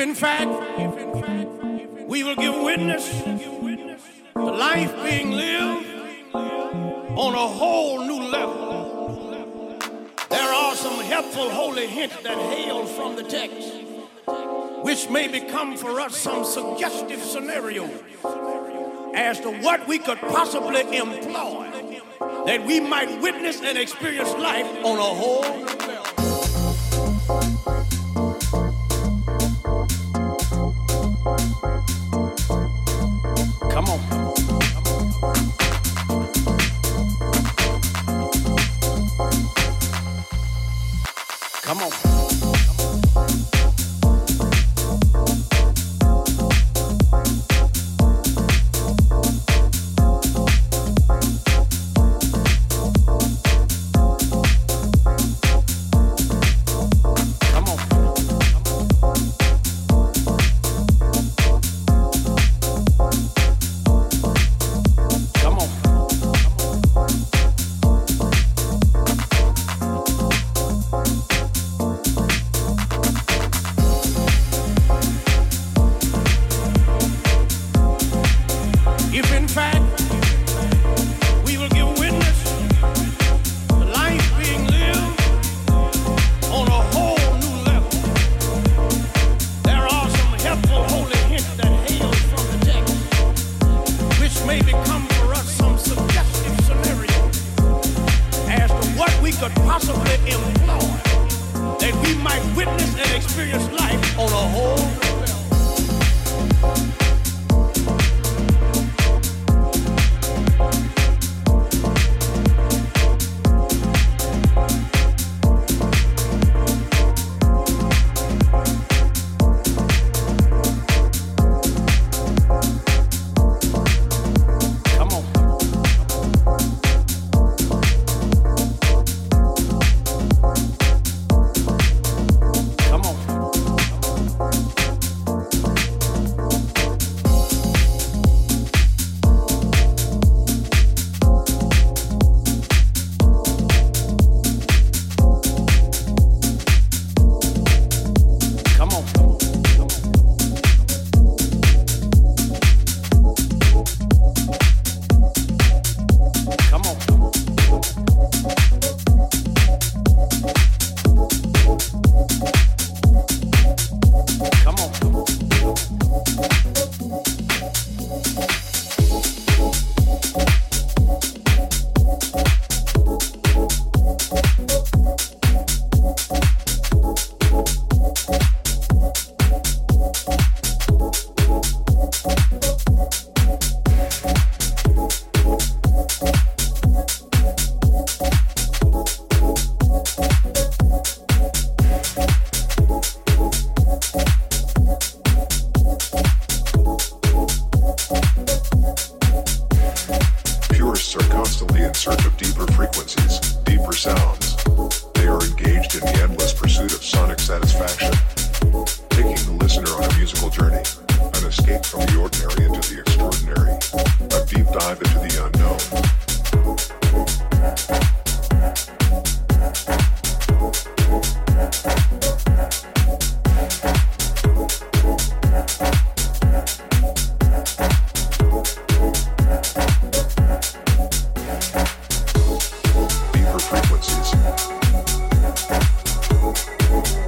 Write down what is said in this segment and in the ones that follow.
in fact we will give witness to life being lived on a whole new level. There are some helpful holy hints that hail from the text, which may become for us some suggestive scenarios as to what we could possibly employ that we might witness and experience life on a whole new level. Come on. Come on.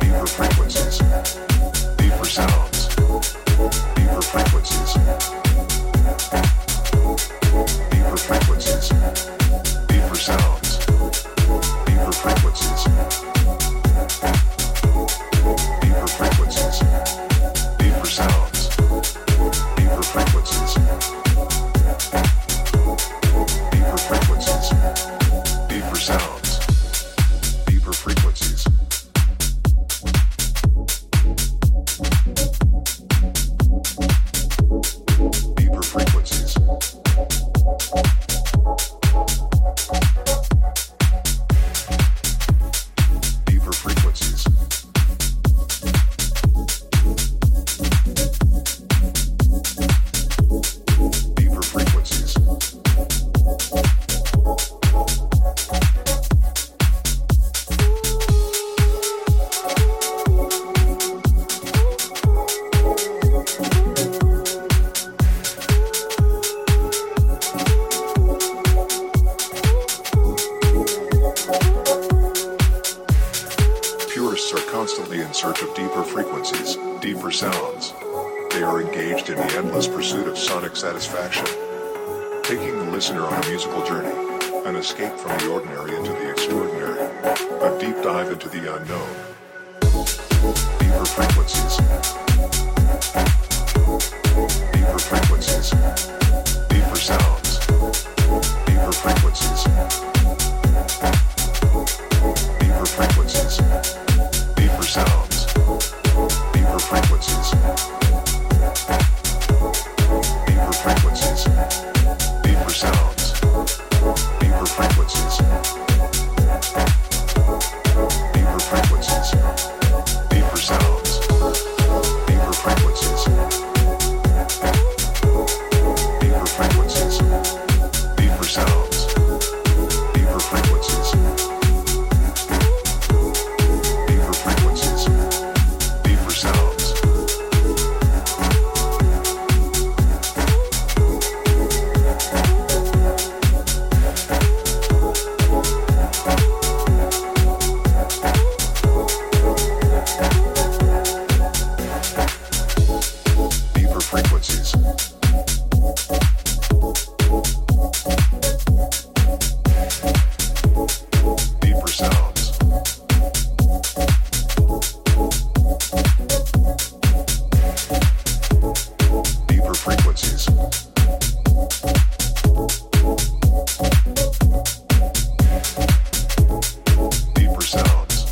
Deeper sounds, deeper frequencies. deeper sounds. They are engaged in the endless pursuit of sonic satisfaction, taking the listener on a musical journey, an escape from the ordinary into the extraordinary, a deep dive into the unknown. Deeper frequencies. Deeper frequencies. Deeper sounds. Deeper frequencies. Deeper frequencies. Deeper sounds. Deeper frequencies. Deeper frequencies. Deeper sounds. Deeper frequencies. Deeper frequencies. Deeper sounds. Deeper frequencies. Deeper frequencies. Deeper sounds. Deeper frequencies. Deeper frequencies. Deeper sounds. Deeper frequencies. Deeper sounds. Deeper frequencies. Deeper sounds.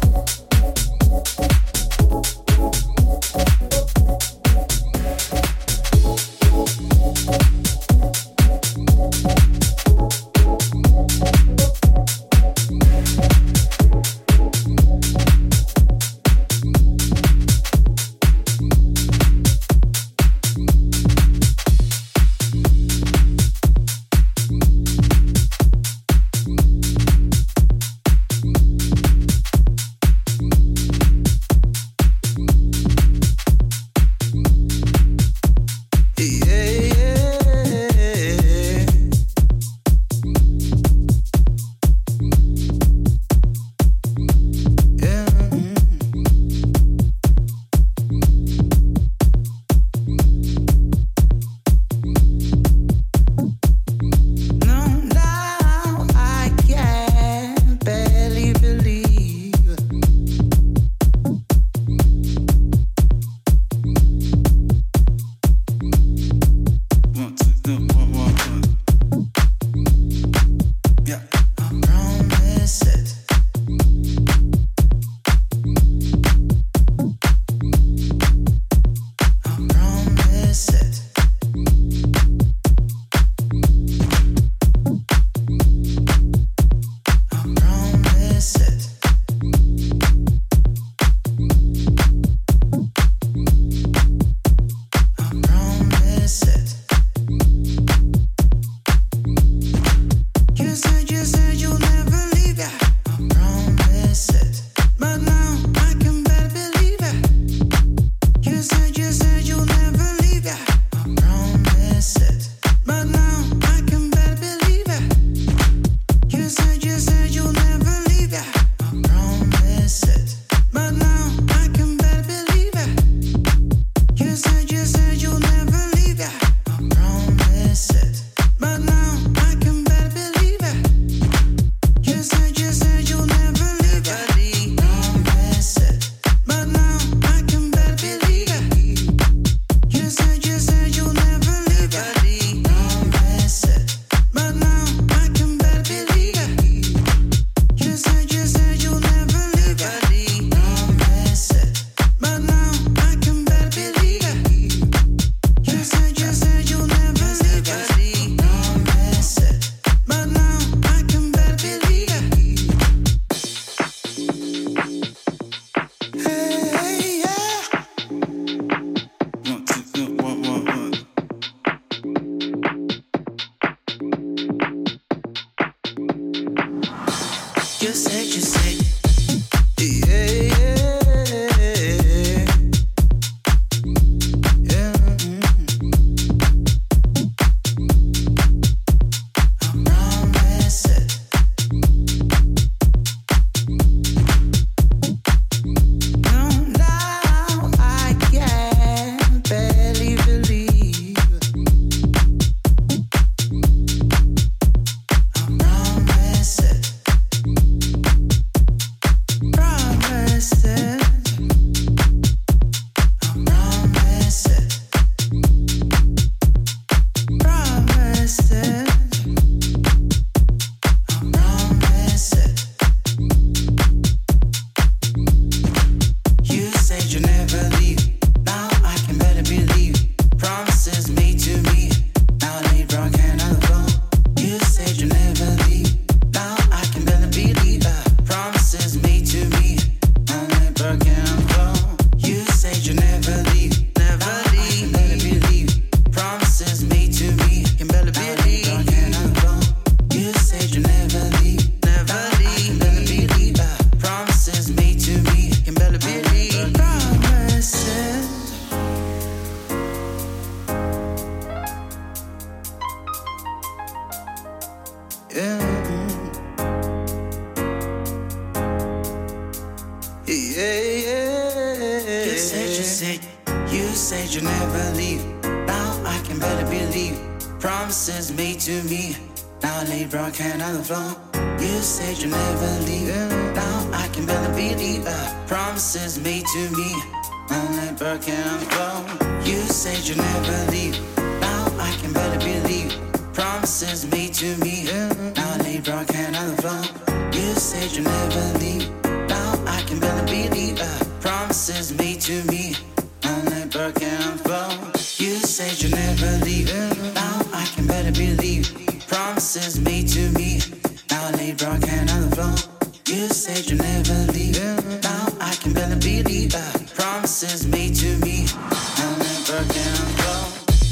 You never leave. Now I can better believe. Promises made to me. Now lay broken on the floor. You said you never leave. Now I can better believe. Promises made to me. Now lay broken on the floor. You said you never leave. Now I can better believe. Promises made to me. Now lay broken on the floor. You said you never leave. Now I can better believe. Promises made to me. Broken on the floor. You said you never leave. Now I can better believe. Promises made to me. Now lay broken on the floor. You said you never leave. Now I can better believe. Promises made to me. Now lay broken on the floor.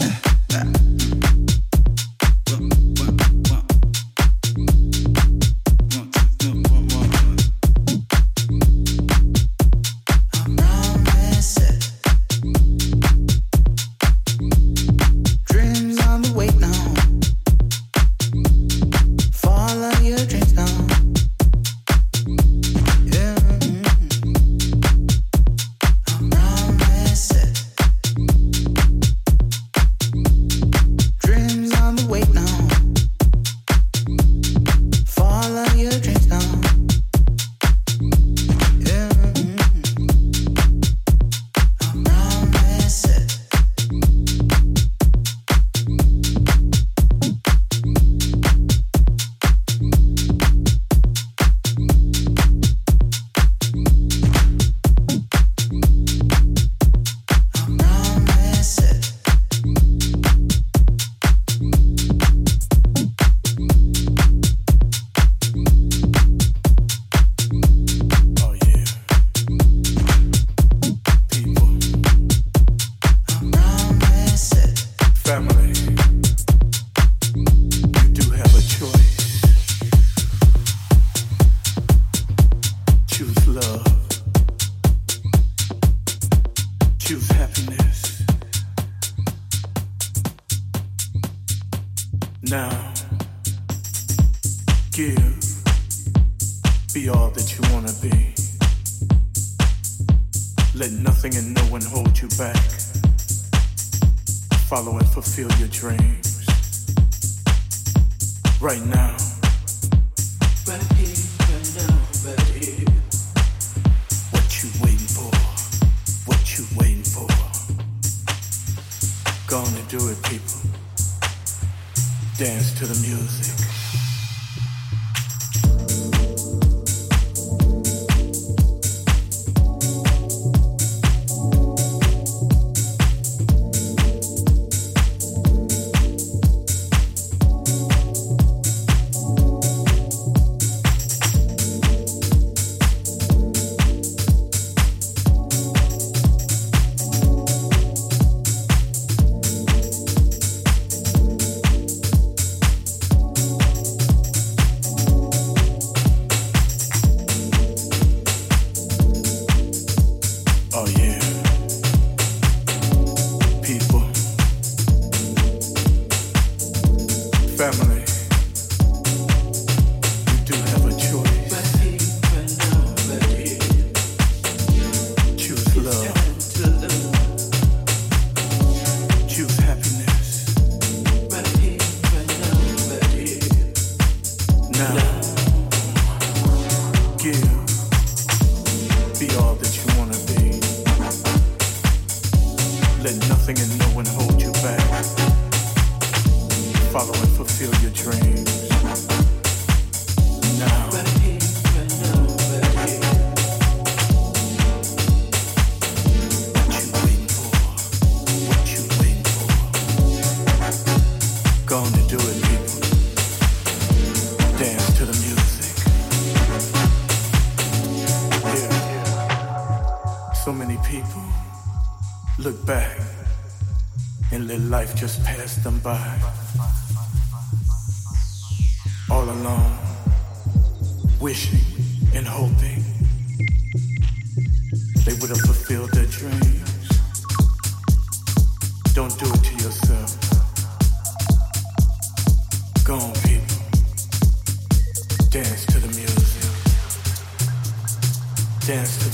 Just passed them by, all alone, wishing and hoping they would have fulfilled their dreams. Don't do it to yourself. Go on, people.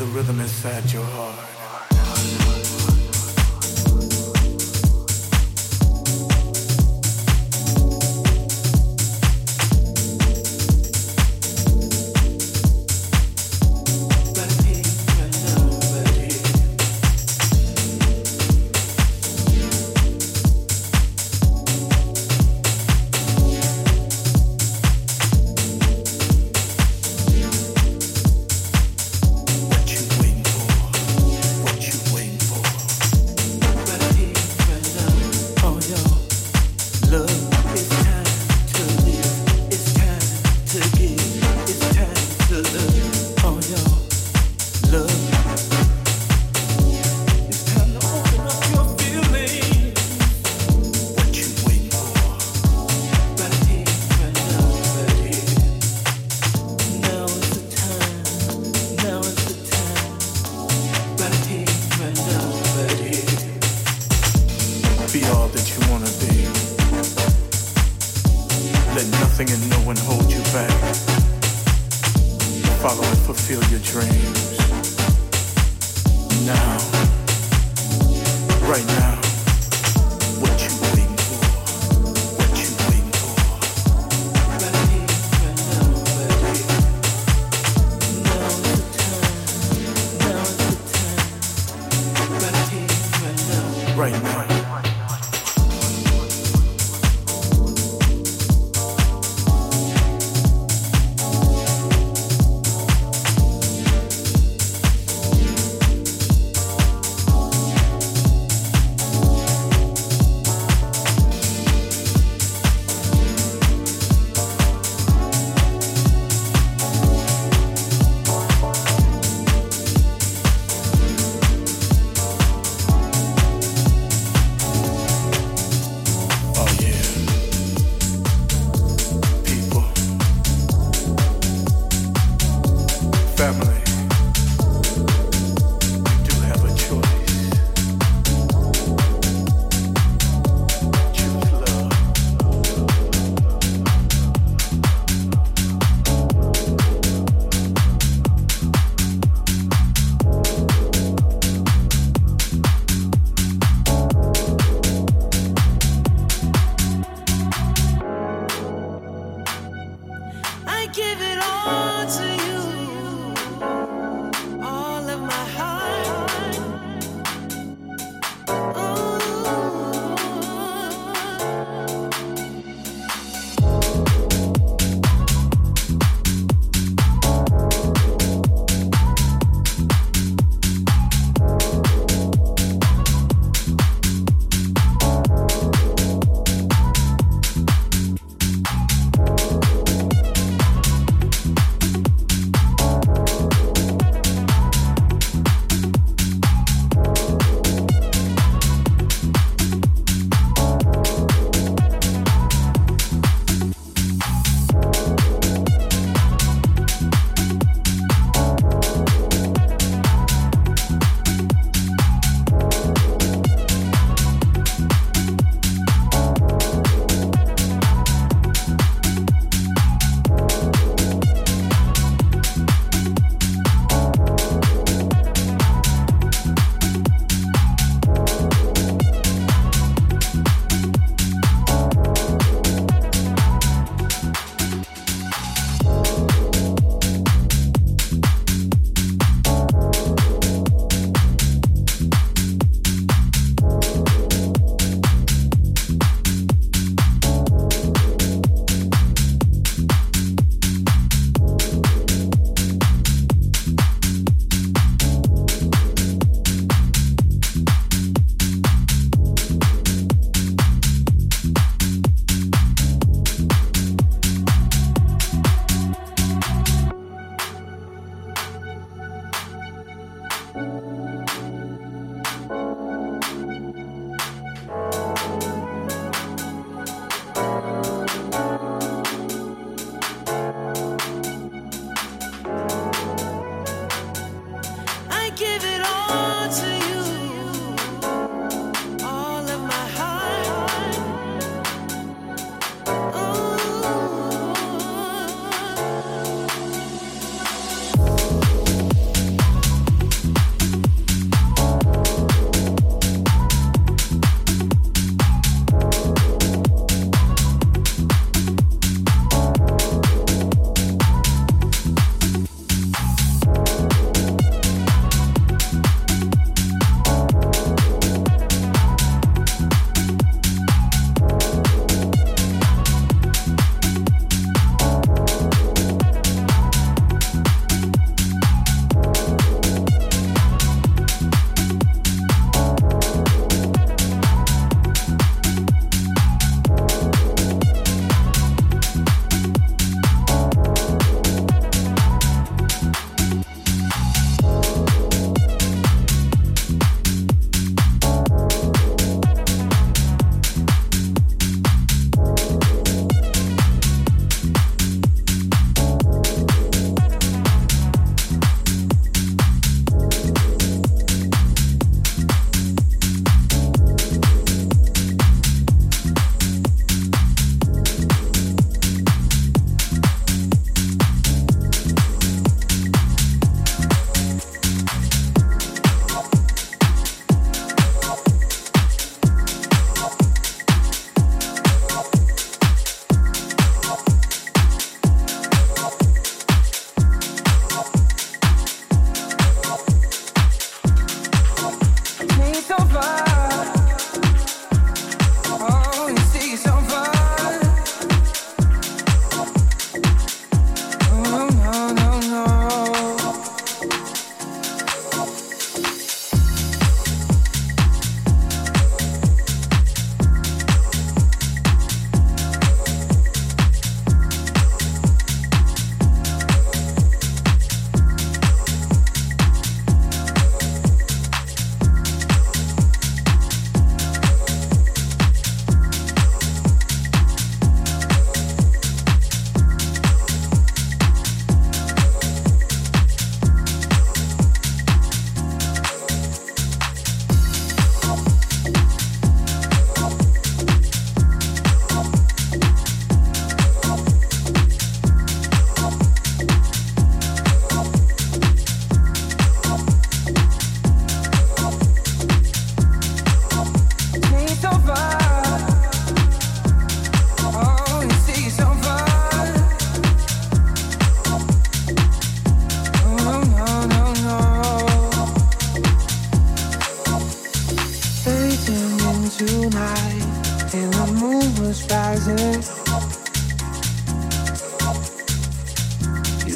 the rhythm inside your heart.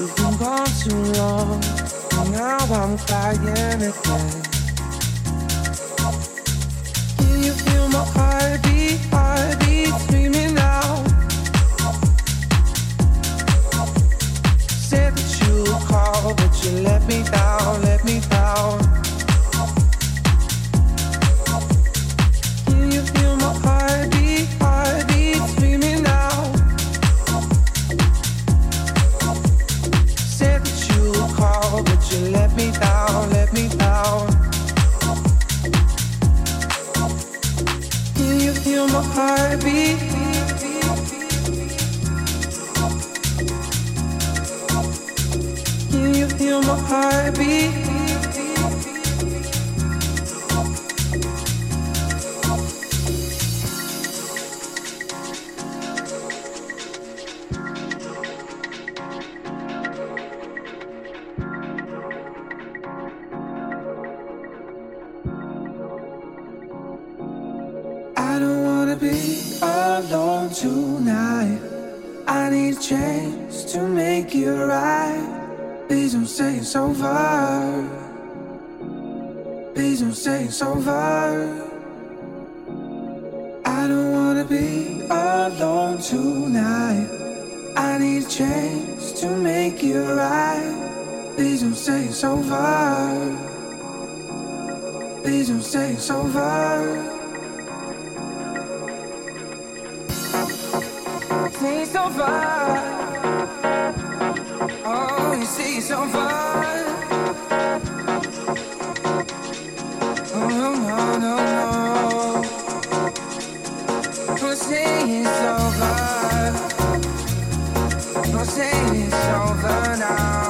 You've been gone too long, and now I'm crying again. Can you feel my heartbeat, heartbeat screaming out? Said that you would call, but you let me down, let me down. Can you feel my heartbeat, heartbeat screaming out? Said that you would call, but you let me down, let me down. Can you feel my heartbeat? Can you feel my heartbeat? I don't wanna be alone tonight. I need a chance to make it right. Please don't say it's over. Please don't say it's over. I don't wanna be alone tonight. I need a chance to make it right. Please don't say it's over. Please don't say it's over. Say it's over. Oh, you say it's over. Oh, no, no, no, no. Don't say it's over. Don't say it's over now.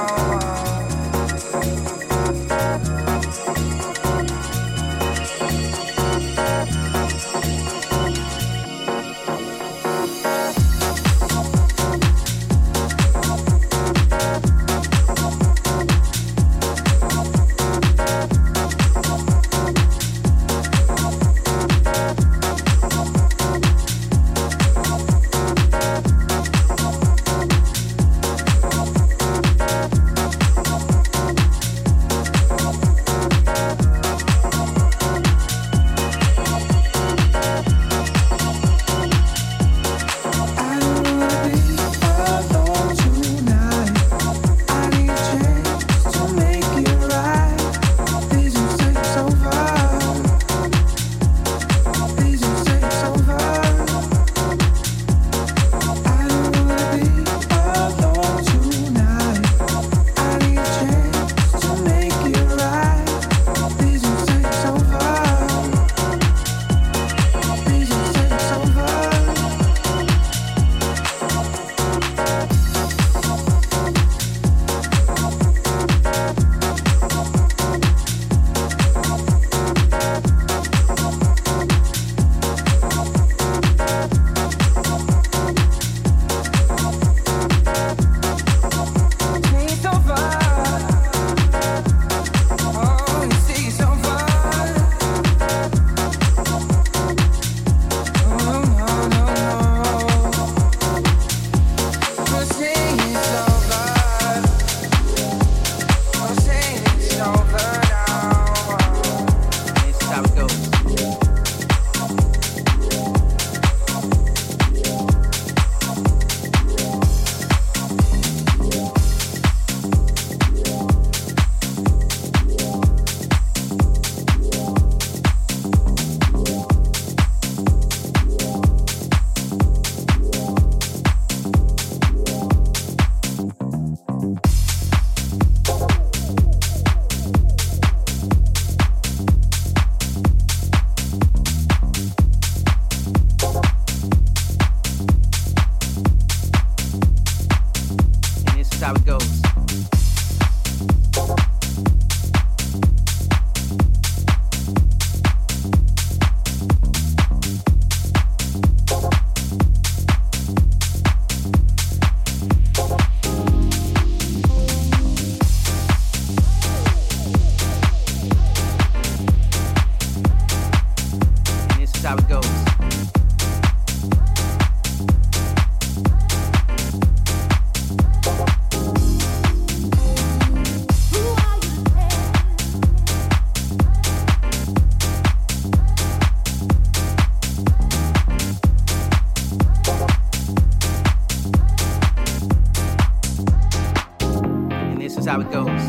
how it goes.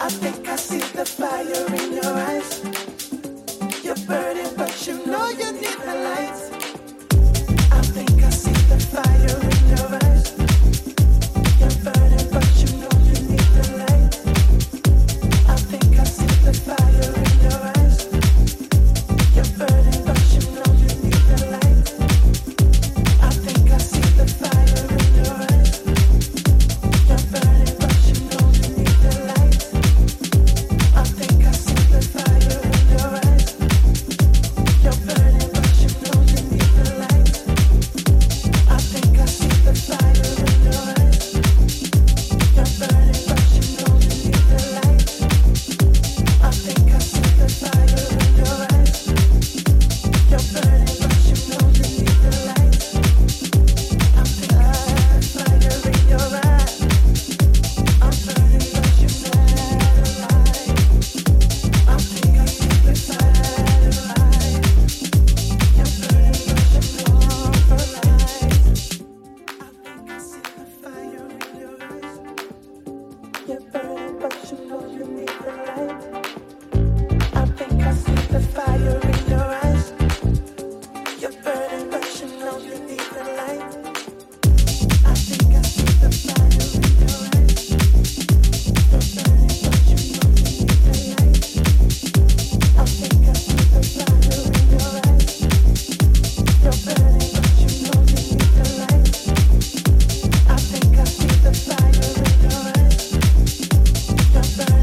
You're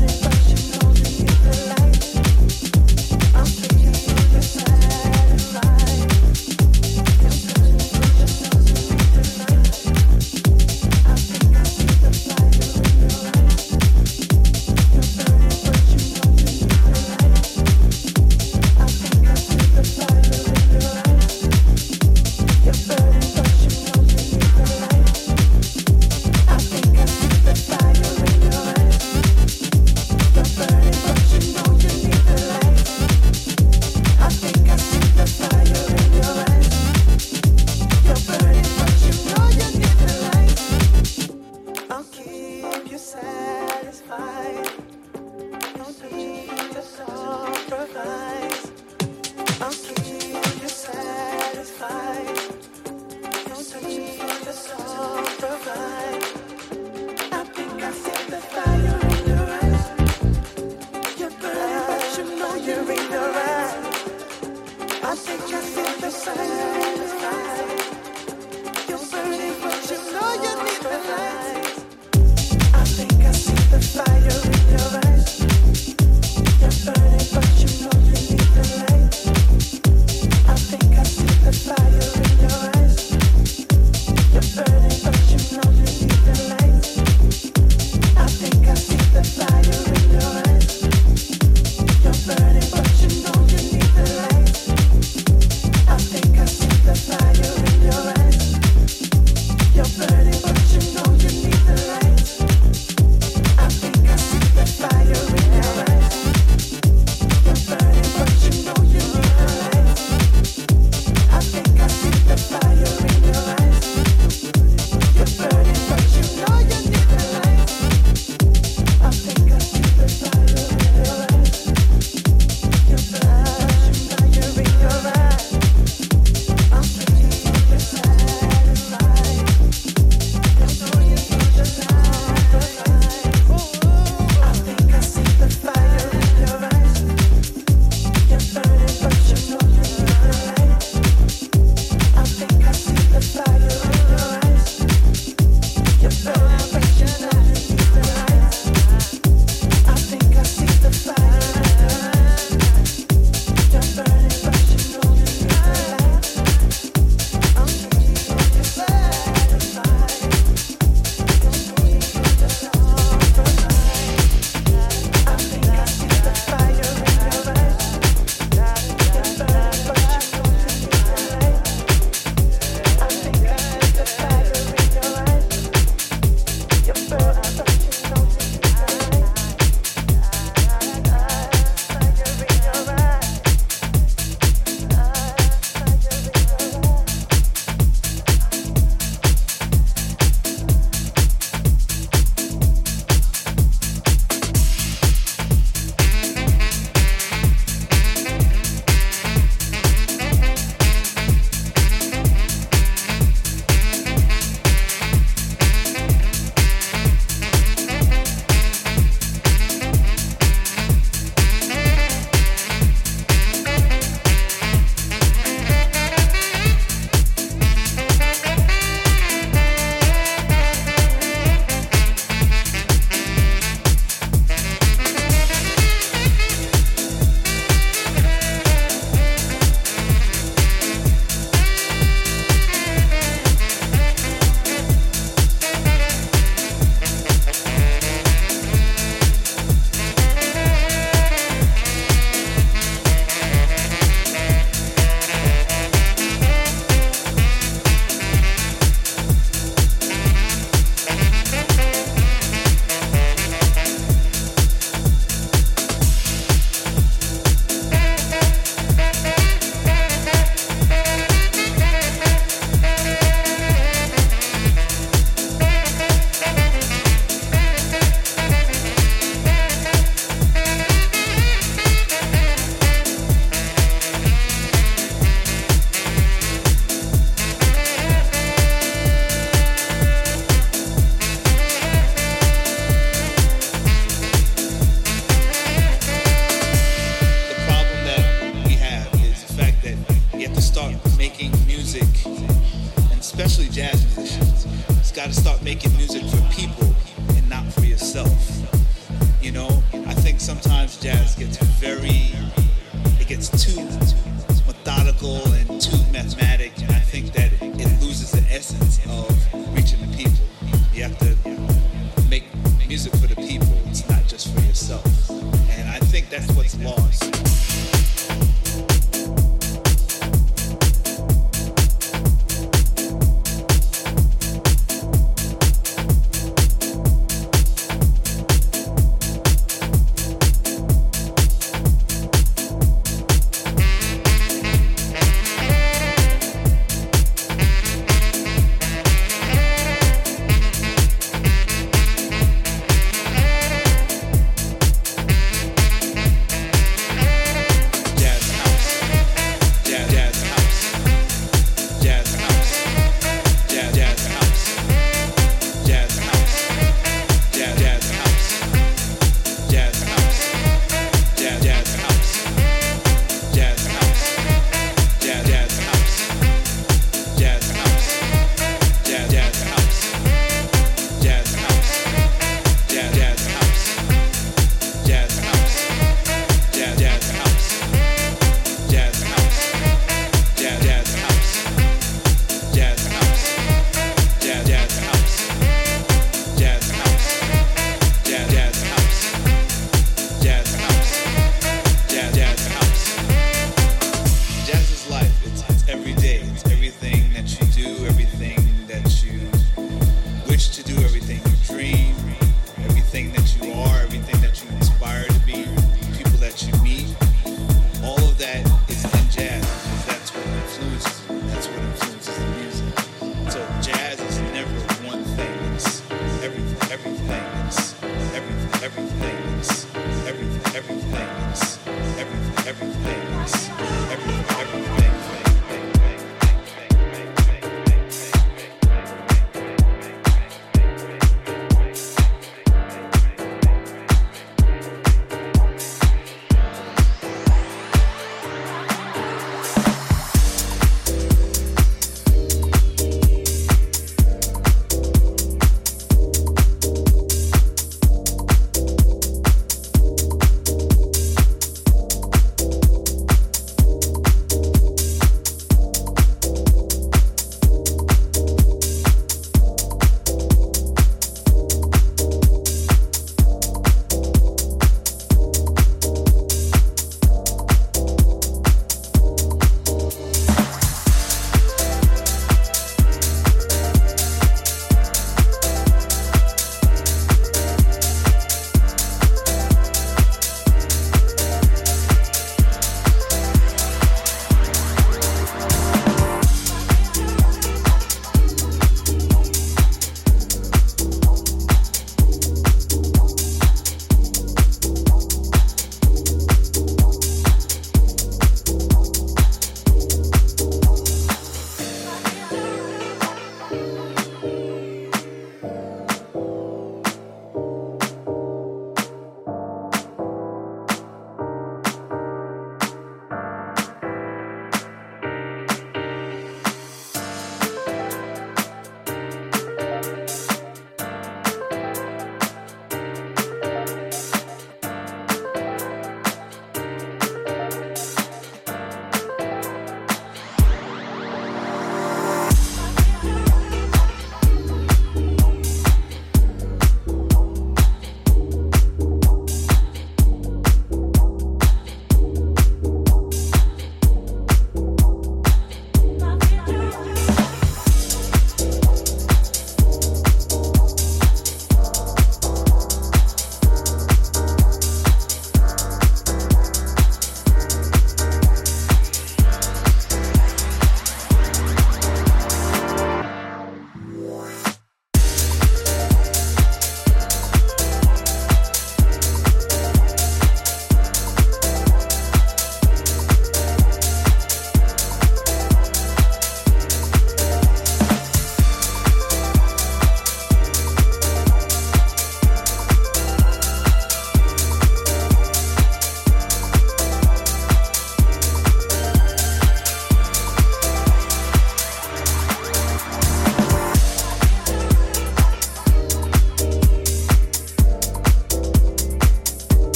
You know, I think sometimes jazz gets it gets too methodical and too mathematic, and I think that it loses the essence of reaching the people. You have to make music for the people, it's not just for yourself. And I think that's what's lost.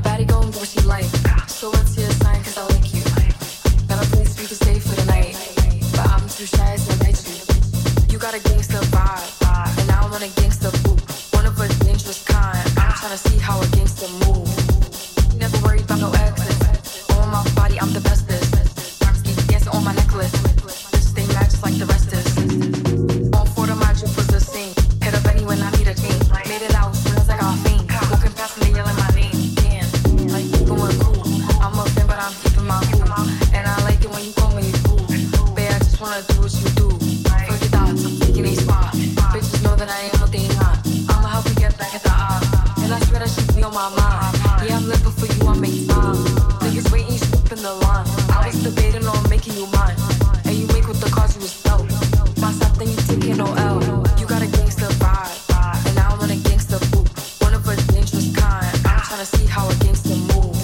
baddie gon' do what she like. So what's your sign? Cause I like you. Got a place we can stay for the night, but I'm too shy to invite you. You got a gangsta vibe, and I want a gangsta boo. One of a dangerous kind. I'm tryna see how a gangsta move. Never worried about no exes. On my body, I'm the bestest. Keep dancing on my necklace. Bitch, they match like the rest is. On four of my drip was the scene. Hit up any when I need a team. Made it out soon as I got fame. Walking past me, they yelling my name. Damn, like you going cool. I'm a fan, but I'm keeping my cool. And I like it when you call me fool. Babe, I just wanna do what you do. Forget thoughts, I'm taking a spot. Bitches know that I am what they not. I'ma help you get back at the eye. And I swear that shit be on my mind. Yeah, I'm living for you, I make time. Niggas waiting, you in the line. I was debating on making you mine. And you make with the cause you was dope. My stop, then you taking no L. You got a gangster vibe, and I want a gangster boo. One of a dangerous kind. I'm tryna see how a gangster move.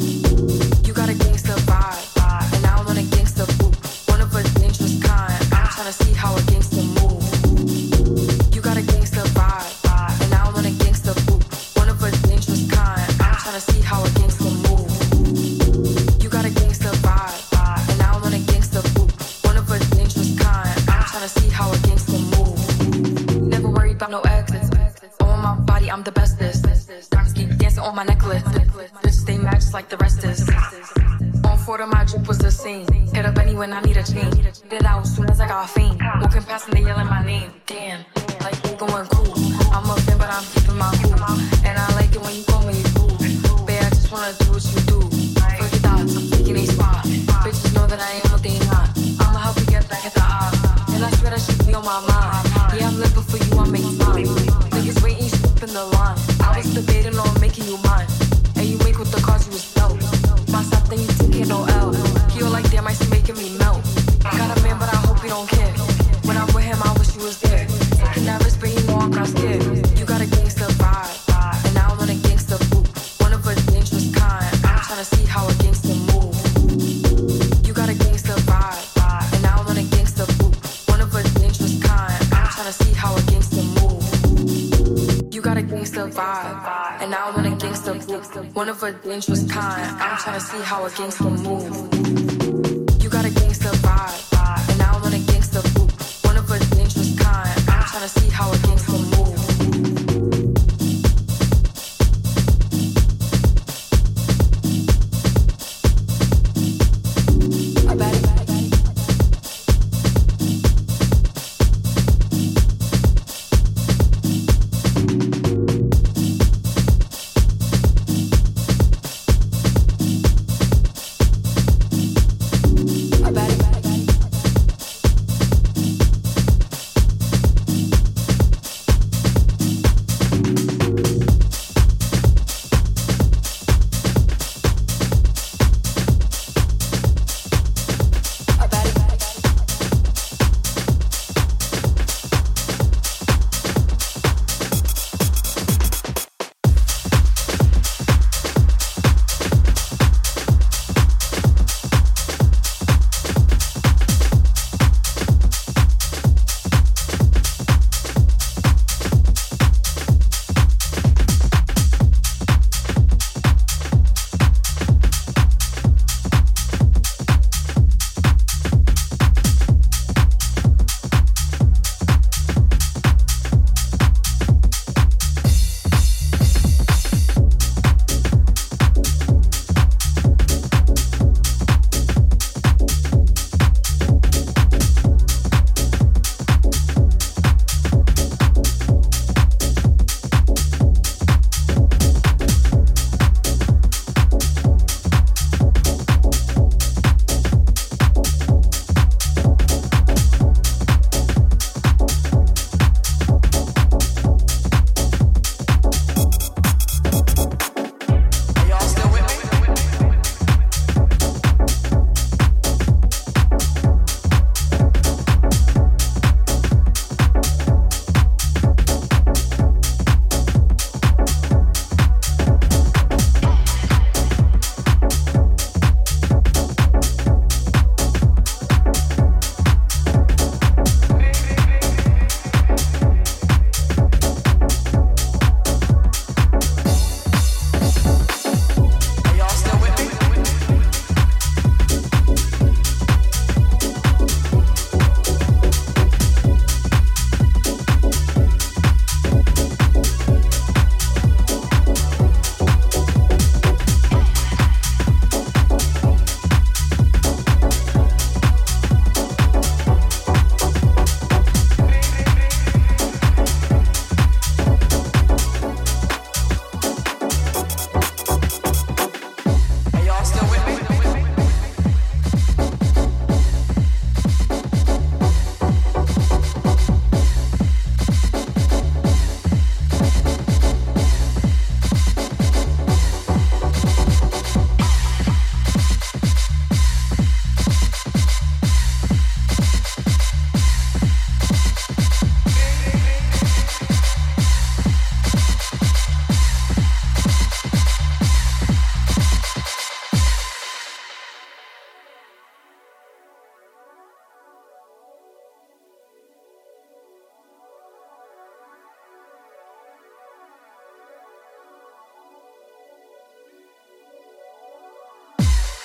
You got a gangster vibe, and I want a gangster boo. One of a dangerous kind. I'm tryna see how a gangster move. You got a gangster vibe, and I want a gangster boo. One of a dangerous kind. I'm tryna see how a gangster move. You got a gangster vibe, and I want a gangster boo. One of a dangerous kind. I'm tryna see how a gangster move. Never worried about no exes. On my body, I'm the bestest. Keep dancing on my necklace. Bitch, they match like the rest is. On four of my drip was the scene. Hit up any when I need a change. Did out soon as I got fame. Walking past and they yelling my name. Damn, like you going cool. I'm a fan, but I'm keeping my cool. And I like it when you call me fool. Babe, I just wanna do what you do. Forget thoughts, I'm taking a spot. Bitches know that I am what they not. I'ma help you get back at the eye. And I swear that shit be on my mind. Yeah, I'm living for you, I make time. Niggas waiting, you in the line. I was debating on making you mine. And you make with the cause you was dope. My stop, then you taking no L. He all like damn, I see making me melt. Got a man, but I hope he don't care. When I'm with him, I wish he was there. Taking that risk, but you know I'm not scared. You got a gangster vibe, and I want a gangster boo. One of a dangerous kind. I'm tryna see how a gangster move. You got a gangster vibe, and I want a gangster boo. One of a dangerous kind. I'm tryna see how a gangster move. You got a gangster vibe, and I want a gangster boo. One of a dangerous kind. I'm tryna see how a gangster move. You got a gangster vibe, and I want a gangster boo. One of a dangerous kind. I'm tryna see how a gangster move.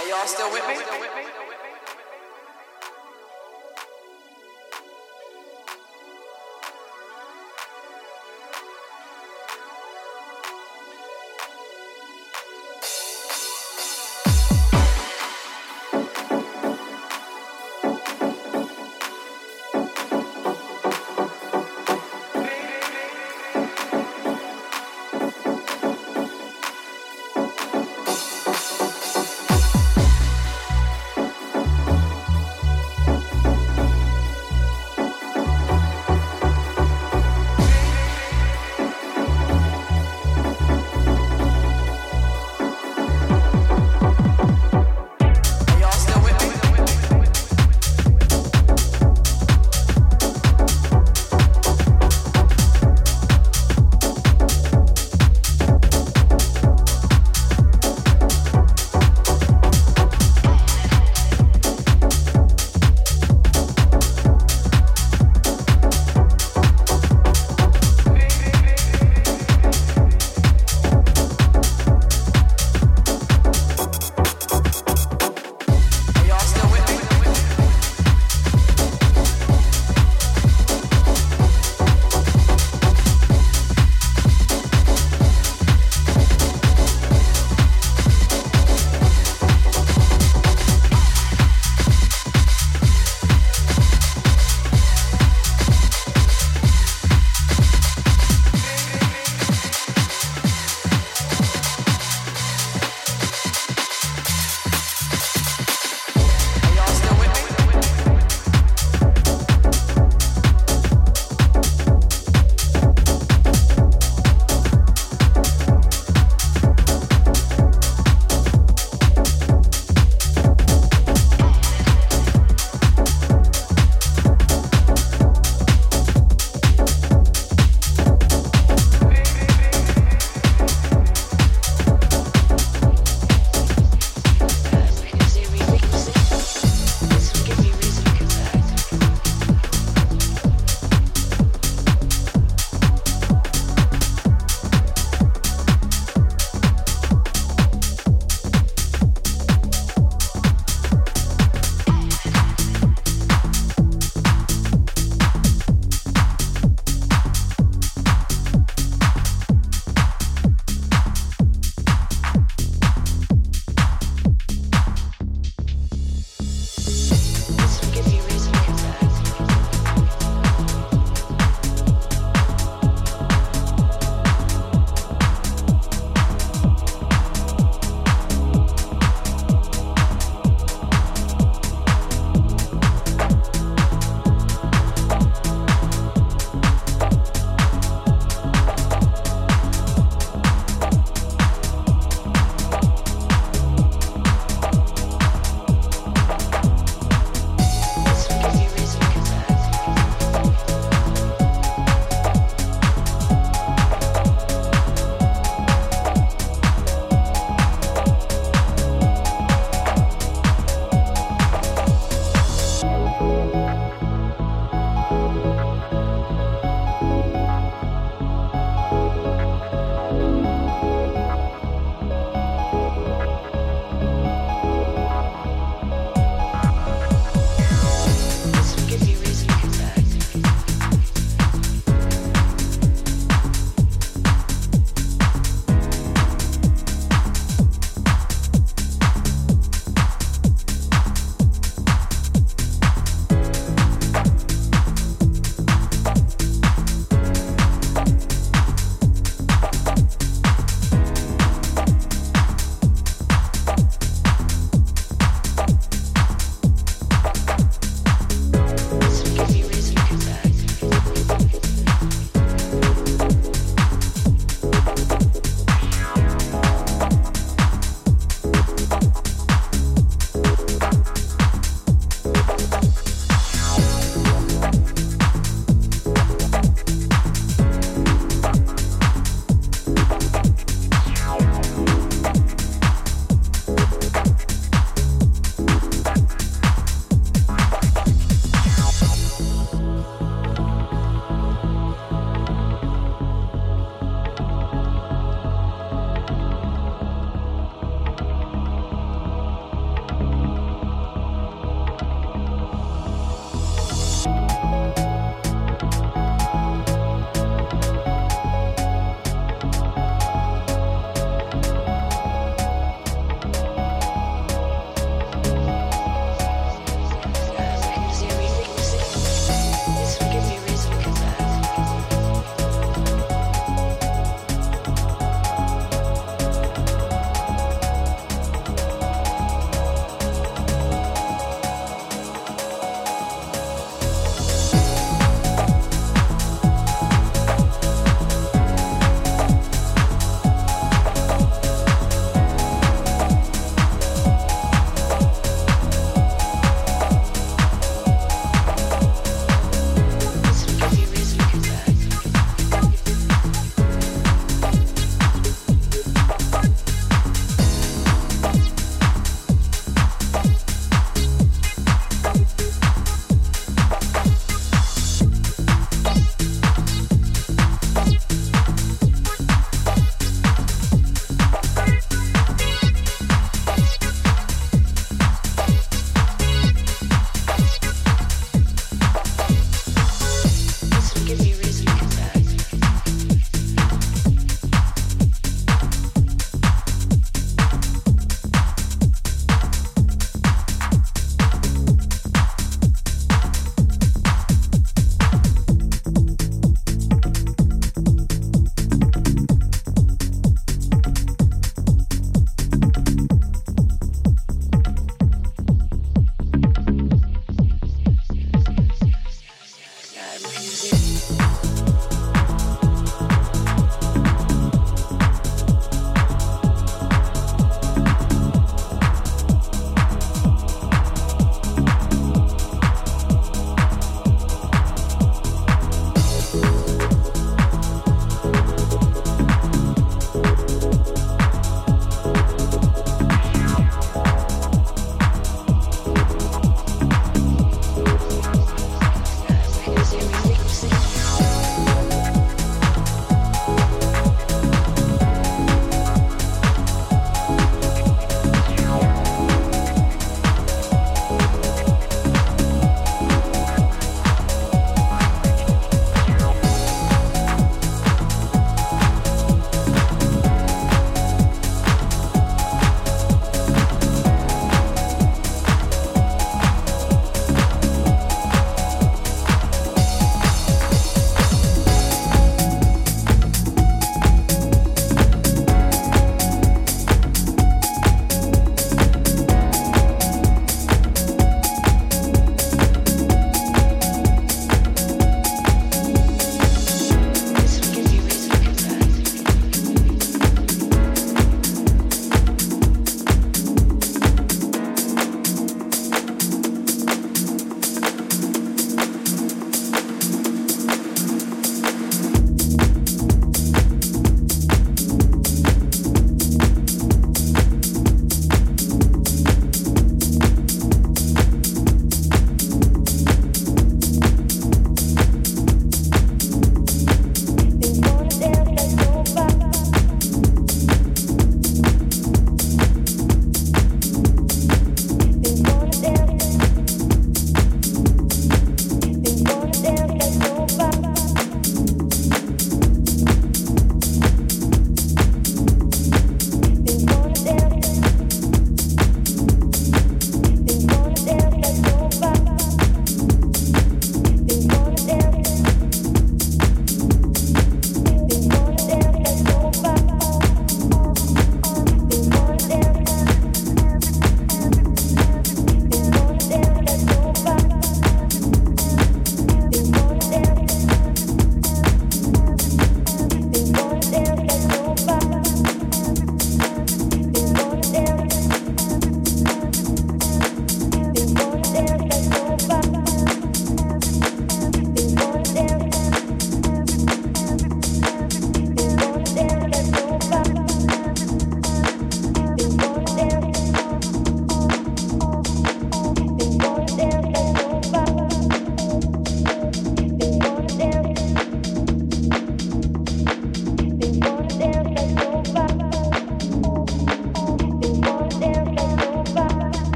Are y'all still with me?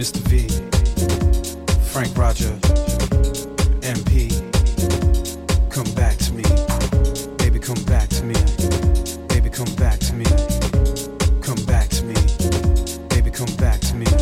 Mr. V, Frank Roger, MP. Come back to me, baby, come back to me, baby, come back to me, come back to me, baby, come back to me.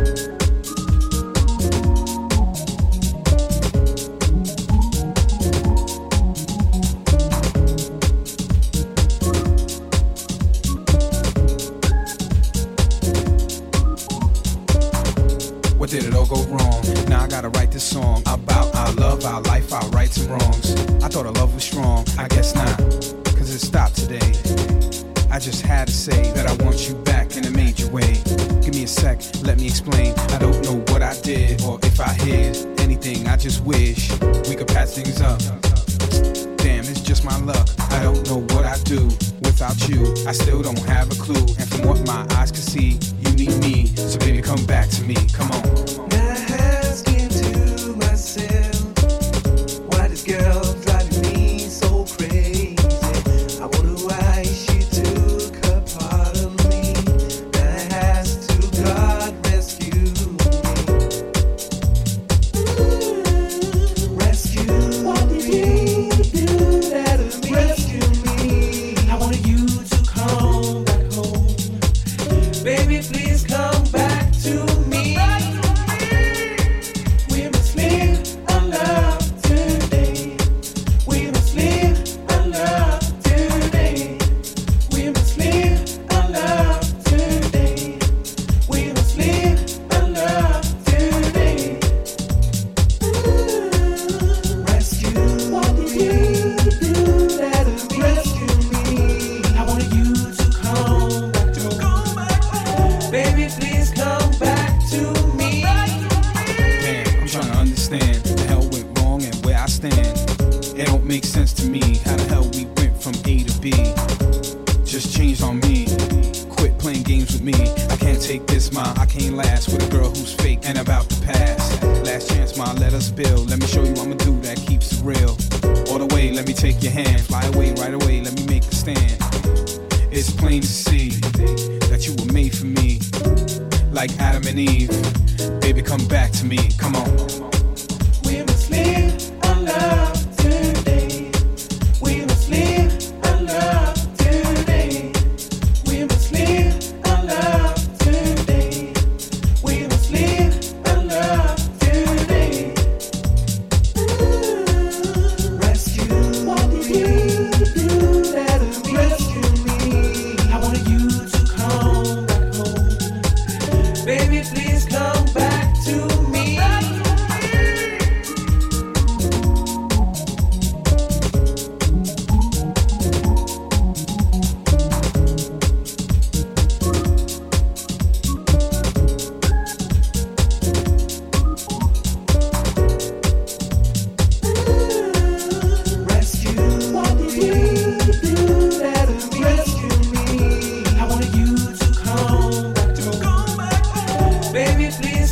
What did it all go wrong? Now I gotta write this song about our love, our life, our rights and wrongs. I thought our love was strong, I guess not, cause it stopped today. I just had to say that I want you back in a major way. Give me a sec, let me explain. I don't know what I did or if I hid anything. I just wish we could patch things up. Damn, it's just my luck. I don't know what I do without you. I still don't have a clue. And from what my eyes can see, you need me. So baby, come back to me. Come on. Now asking to myself, why this girl driving me so crazy? I wonder why she took a part of me. Now I ask to God rescue me. Rescue what did you do that of me? Rescue me. I wanted you to come back home. Baby, please come back to me. We must live our love today. We must live our love today. We must live our love today. We must live our love today. Rescue what did you do that of me? Rescue me. I wanted you to come back to me. Baby, please come back to me. Damn, I'm trying to understand the hell went wrong and where I stand. It don't make sense to me how the hell we went from A to B. Just changed on me. Quit playing games with me. I can't take this, ma. I can't last with a girl who's fake and about to pass. Last chance, ma. Let us build. Let me show you I'm a dude that keeps it real. All the way, let me take your hand. Fly away, right away. Let me make a stand. It's plain to see that you were made for me, like Adam and Eve. Baby, come back to me. Come on. We must live our love today. We must live our love today. We must live our love today. We must live our love today. Rescue what did you do that of me? Rescue me. I wanted you to come back home. Baby, please come back to me. Rescue what did you do that of me? Rescue me. I wanted you to come back to me. Baby, please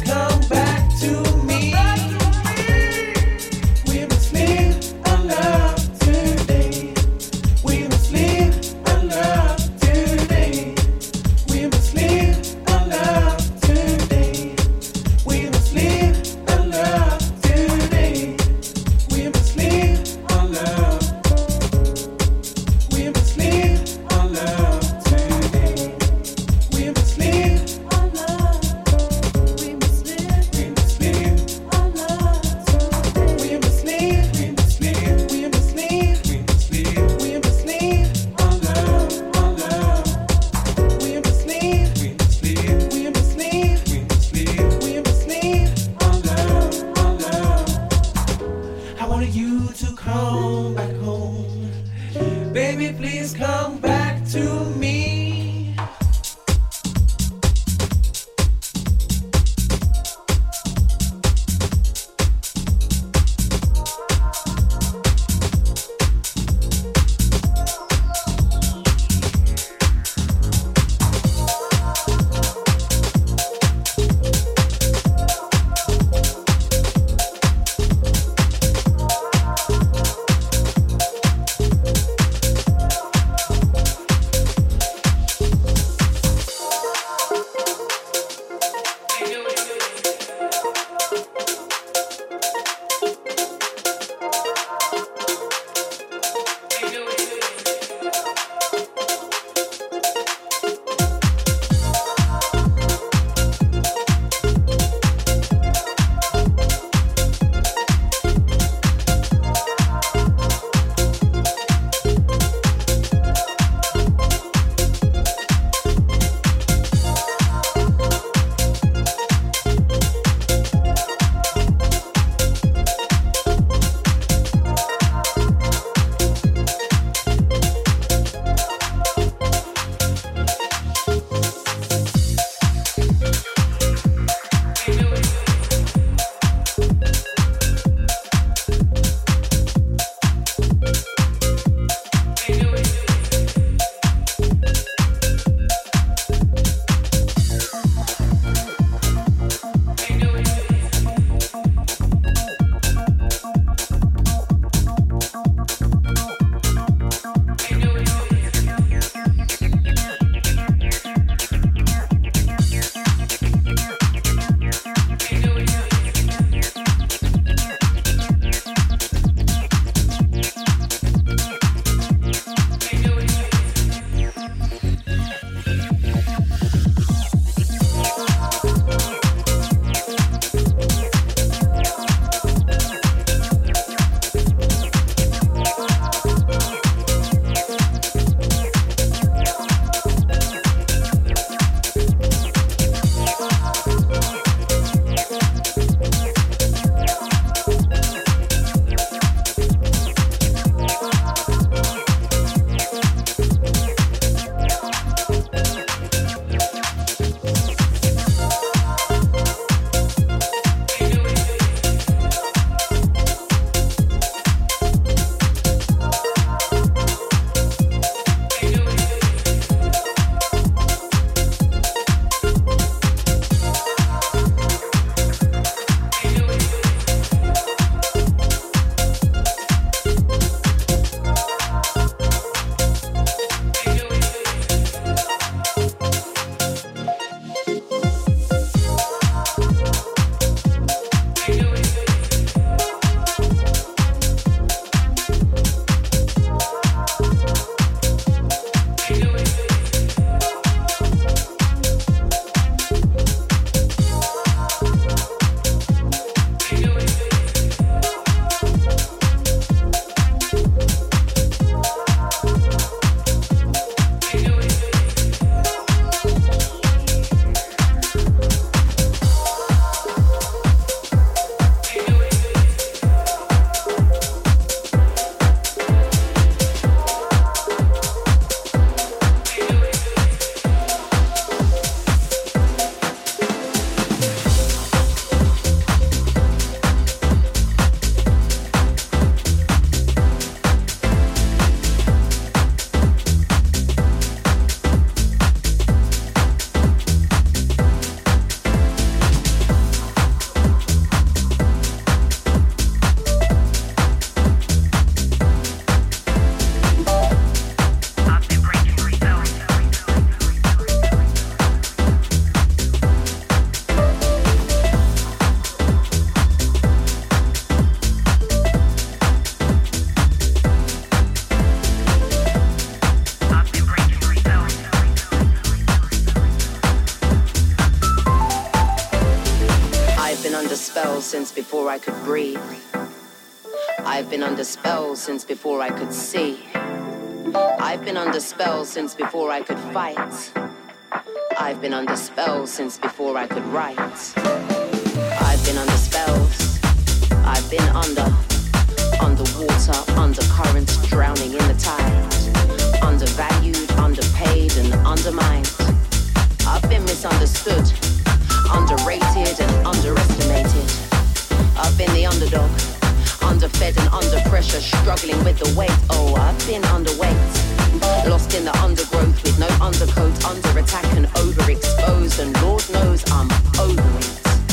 under spells since before I could breathe. I've been under spells since before I could see. I've been under spells since before I could fight. I've been under spells since before I could write. I've been under spells. I've been underwater, undercurrent, drowning in the tide. Undervalued, underpaid, and undermined. I've been misunderstood, underrated, and underestimated. I've been the underdog, underfed and under pressure, struggling with the weight. Oh, I've been underweight, lost in the undergrowth with no undercoat, under attack and overexposed, and Lord knows I'm over it.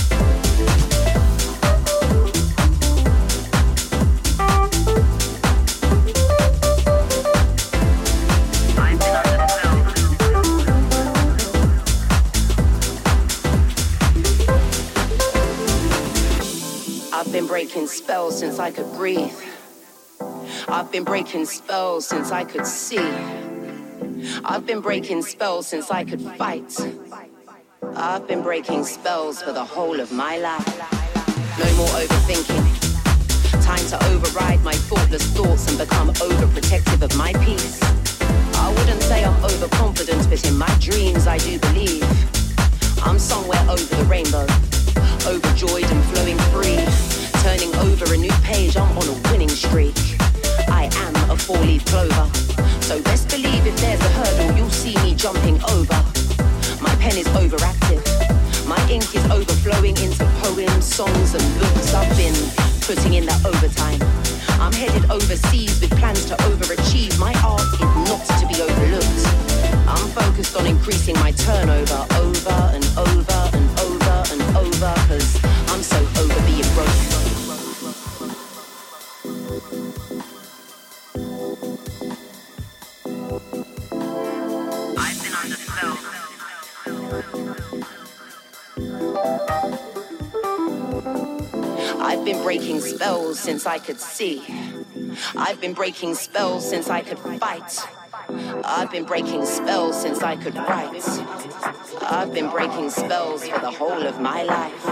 I've been breaking spells since I could breathe. I've been breaking spells since I could see. I've been breaking spells since I could fight. I've been breaking spells for the whole of my life. No more overthinking. Time to override my thoughtless thoughts and become overprotective of my peace. I wouldn't say I'm overconfident, but in my dreams I do believe I'm somewhere over the rainbow, overjoyed and flowing free, turning over a new page. I'm on a winning streak. I am a four-leaf clover, so best believe if there's a hurdle, you'll see me jumping over. My pen is overactive, my ink is overflowing into poems, songs and books. I've been putting in that overtime. I'm headed overseas with plans to overachieve. My art is not to be overlooked. I'm focused on increasing my turnover over and over and over and over, cause I'm so over being broke. I've been under spell. I've been breaking spells since I could see. I've been breaking spells since I could fight. I've been breaking spells since I could write. I've been breaking spells for the whole of my life.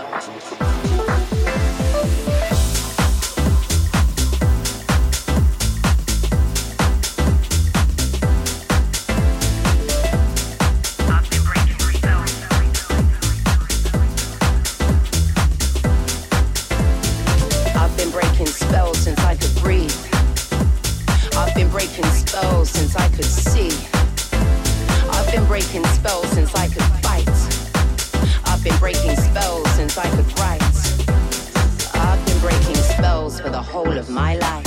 Breaking spells since I could see. I've been breaking spells since I could fight. I've been breaking spells since I could write. I've been breaking spells for the whole of my life.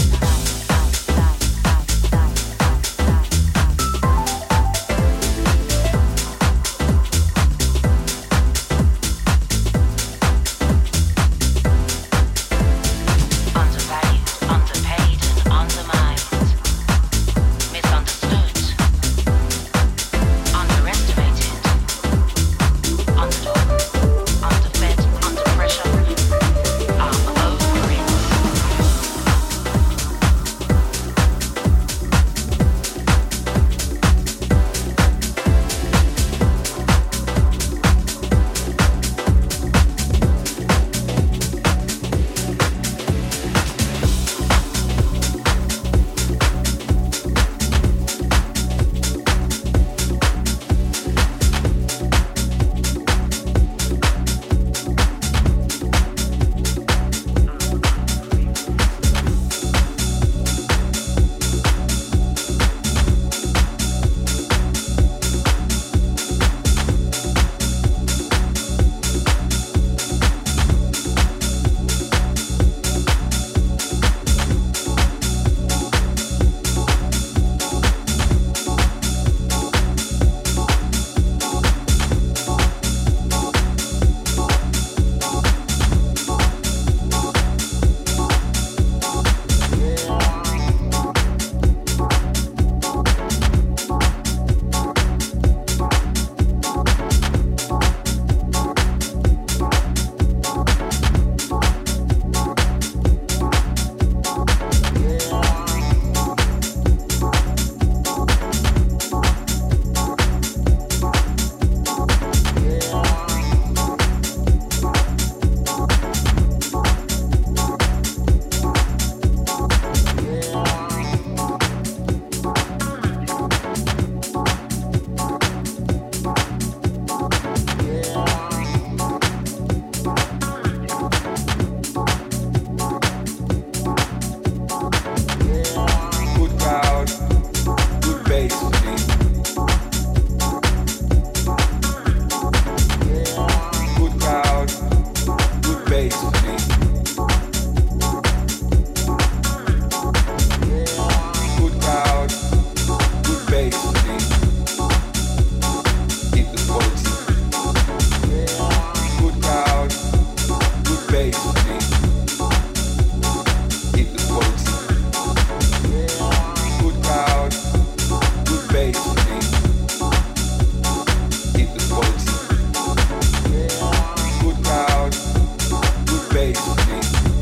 bass for me.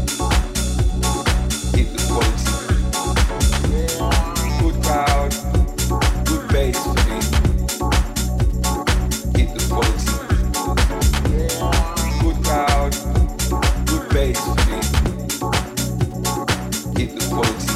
Keep the quality. Good crowd, good bass for me. Keep the quality. Good crowd, good bass for me. Keep the quality.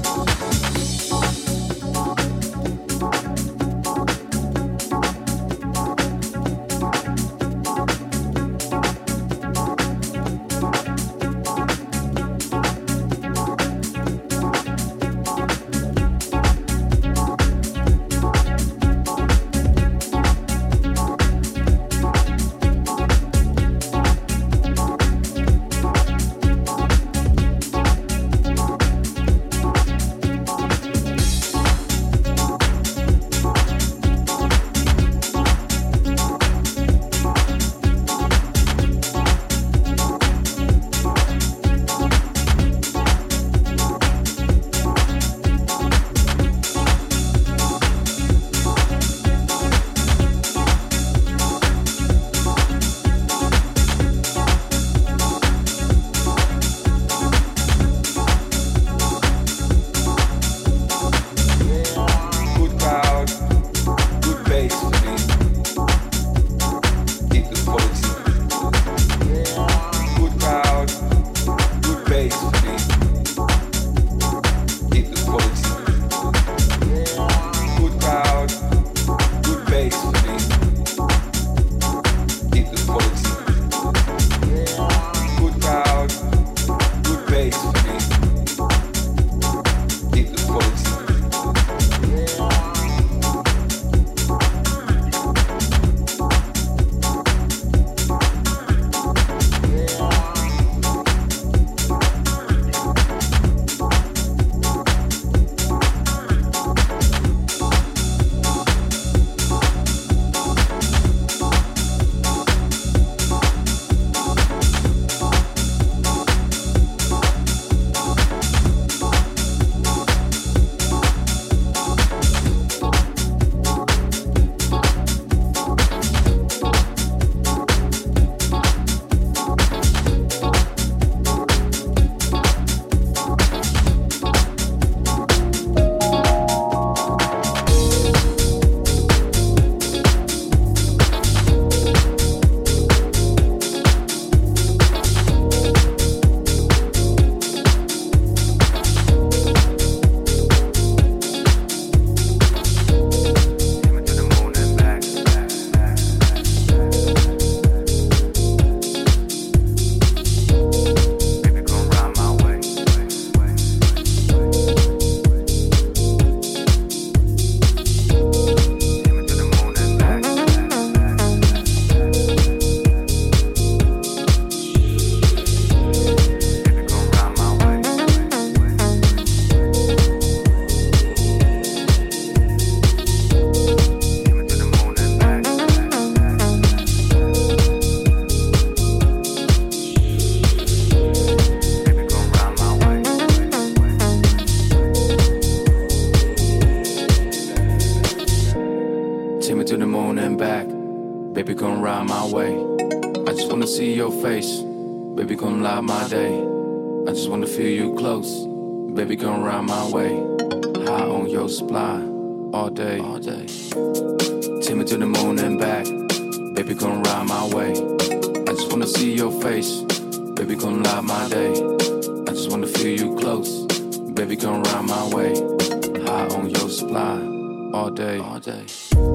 Baby, come light my day. I just wanna feel you close. Baby, come round my way. High on your supply, all day, all day. Take me to the moon and back. Baby, come round my way. I just wanna see your face. Baby, come light my day. I just wanna feel you close. Baby, come round my way. High on your supply, all day, all day.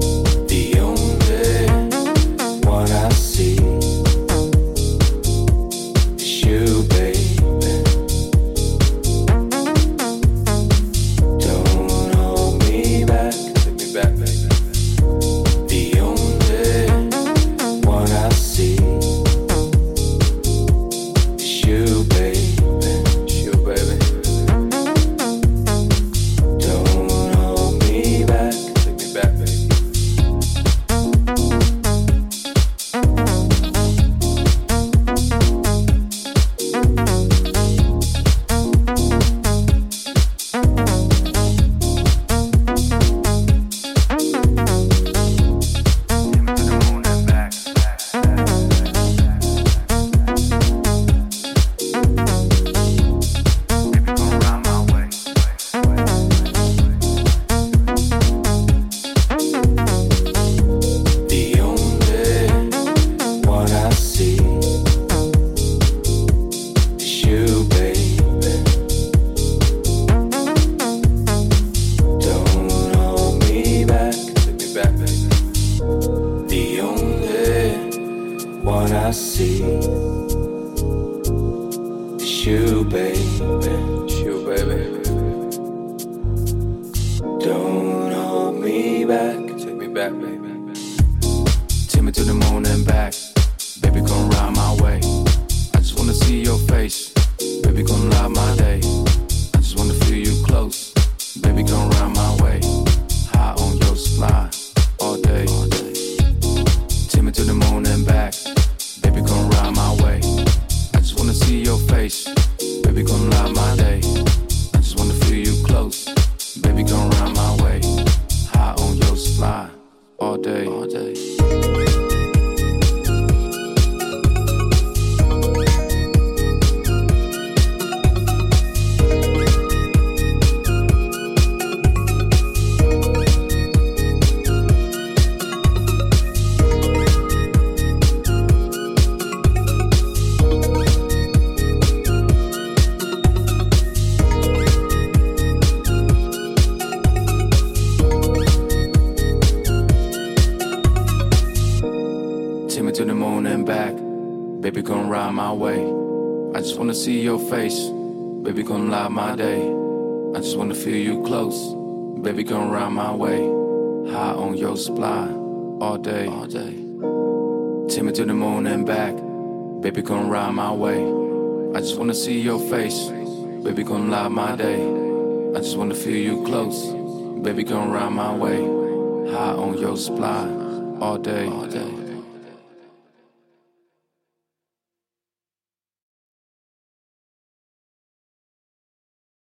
The only one I see. You, baby, don't hold me back. Take me back, baby. The only one I see is you, baby. It's you, baby. Don't hold me back. Take me back, baby. It's you, baby. It's you, baby. Don't hold me back. Take me back, baby. Take me to the moon and back. Baby, come ride my way. I just wanna see your face. Baby, come light my day. I just wanna feel you close. Baby, come ride my way. High on your supply all day. Take me to the moon and back. Baby, come ride my way. I just wanna see your face. Baby, come light my day. I just wanna feel you close. Baby, come ride my way. High on your supply all day. Baby, come ride my way. I just wanna see your face. Baby, come light my day. I just wanna feel you close. Baby, come ride my way. High on your supply all day. Take me to the moon and back. Baby, come ride my way. I just wanna see your face. Baby, come light my day. I just wanna feel you close. Baby, come ride my way. High on your supply all day.